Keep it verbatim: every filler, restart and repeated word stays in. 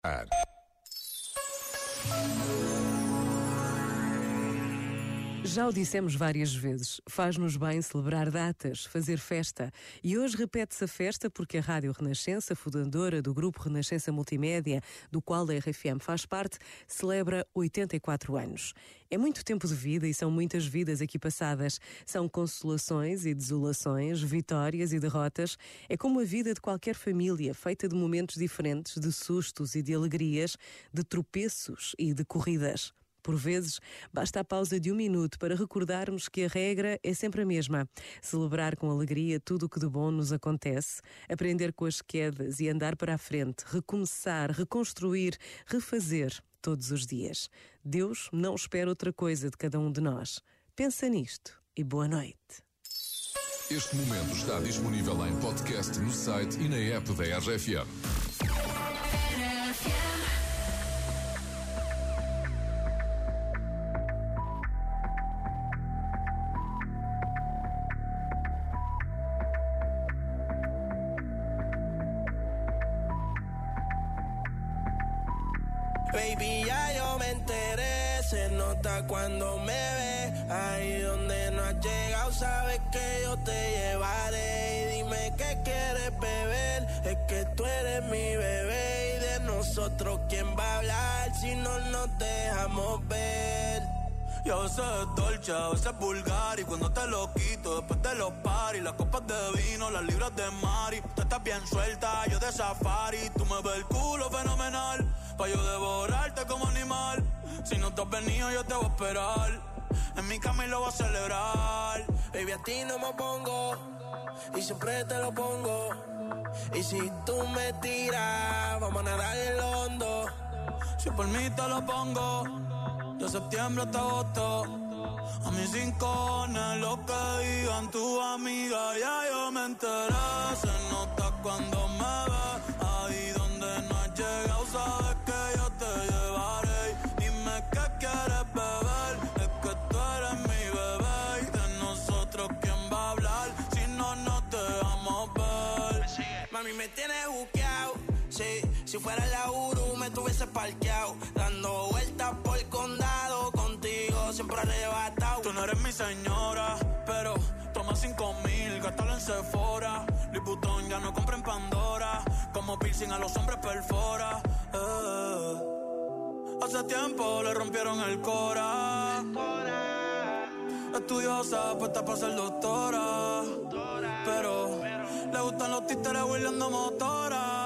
Ar. Já o dissemos várias vezes, faz-nos bem celebrar datas, fazer festa. E hoje repete-se a festa porque a Rádio Renascença, fundadora do Grupo Renascença Multimédia, do qual a R F M faz parte, celebra oitenta e quatro anos. É muito tempo de vida e são muitas vidas aqui passadas. São consolações e desolações, vitórias e derrotas. É como a vida de qualquer família, feita de momentos diferentes, de sustos e de alegrias, de tropeços e de corridas. Por vezes, basta a pausa de um minuto para recordarmos que a regra é sempre a mesma. Celebrar com alegria tudo o que de bom nos acontece, aprender com as quedas e andar para a frente, recomeçar, reconstruir, refazer todos os dias. Deus não espera outra coisa de cada um de nós. Pensa nisto e boa noite. Este momento está disponível em podcast no site e na app da R F M. Baby, ya yo me enteré, se nota cuando me ves. Ahí donde no has llegado, sabes que yo te llevaré. Y dime qué quieres beber, es que tú eres mi bebé. Y de nosotros, ¿quién va a hablar si no nos dejamos ver? Y a veces es dolce, a veces es vulgar. Y cuando te lo quito, después de los paris, las copas de vino, las libras de Mari. Tú estás bien suelta, yo de safari. Tú me ves el culo fenomenal, pa' yo devorarte como animal. Si no te has venido, yo te voy a esperar en mi cama y lo voy a celebrar. Baby, a ti no me pongo y siempre te lo pongo. Y si tú me tiras, vamos a nadar en lo hondo. Si por mí te lo pongo, de septiembre hasta agosto. A mis rincones, lo que digan tu amiga, ya yo me enteré. Se nota cuando me ves, ahí donde no has llegado, sabes que yo te llevaré. Dime qué quieres beber, es que tú eres mi bebé. Y de nosotros, ¿quién va a hablar si no nos dejamos ver? Mami, me tienes buqueado, sí. Si fuera la Uru me tuviese parqueado, dando vueltas por el condado, contigo siempre arrebatado. Tú no eres mi señora, pero toma cinco mil, gástalo en Sephora. Liputón ya no compra en Pandora, como piercing a los hombres perfora. Eh. Hace tiempo le rompieron el cora. Estudiosa, puesta para ser doctora, pero le gustan los títeres huirleando motora.